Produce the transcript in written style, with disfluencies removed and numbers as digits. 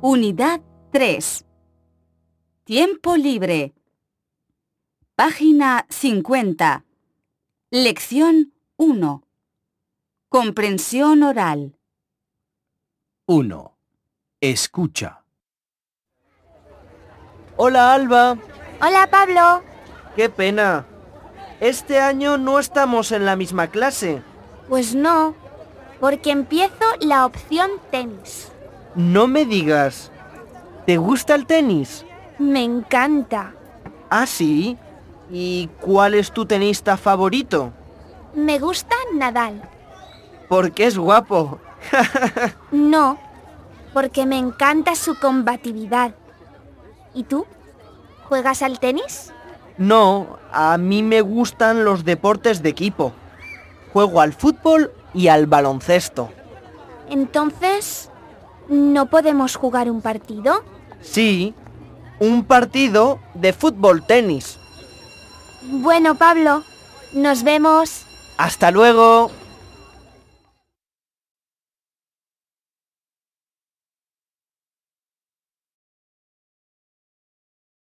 Unidad 3. Tiempo libre. Página 50. Lección 1. Comprensión oral. 1. Escucha. Hola, Alba. Hola, Pablo. ¡Qué pena! Este año no estamos en la misma clase. Pues no, porque empiezo la opción tenis. No me digas. ¿Te gusta el tenis? Me encanta. ¿Ah, sí? ¿Y cuál es tu tenista favorito? Me gusta Nadal. Porque es guapo. No, porque me encanta su combatividad. ¿Y tú? ¿Juegas al tenis? No, a mí me gustan los deportes de equipo. Juego al fútbol y al baloncesto. Entonces, ¿no podemos jugar un partido? Sí, un partido de fútbol-tenis. Bueno, Pablo, nos vemos. ¡Hasta luego!